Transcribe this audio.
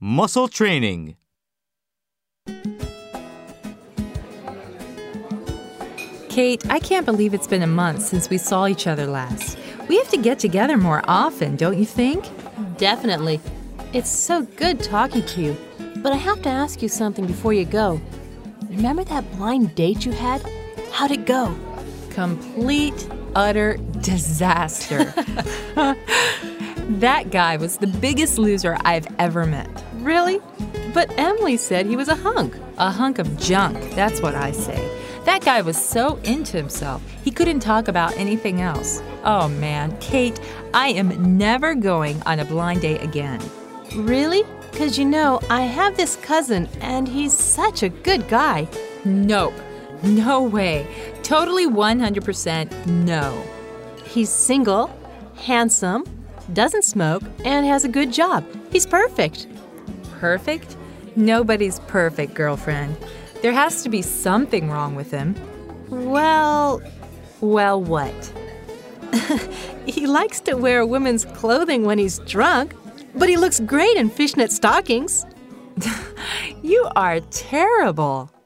Muscle training. Kate, I can't believe it's been a month since we saw each other last. We have to get together more often, don't you think? Definitely. It's so good talking to you. But I have to ask you something before you go. Remember that blind date you had? How'd it go? Complete, utter disaster. That guy was the biggest loser I've ever met. Really? But Emily said he was a hunk. A hunk of junk, that's what I say. That guy was so into himself, he couldn't talk about anything else. Oh man, Kate, I am never going on a blind date again. Really? 'Cause I have this cousin and he's such a good guy. Nope. No way. Totally 100% no. He's single, handsome, doesn't smoke, and has a good job. He's perfect. Perfect? Nobody's perfect, girlfriend. There has to be something wrong with him. Well, what? he likes to wear women's clothing when he's drunk, but he looks great in fishnet stockings. You are terrible.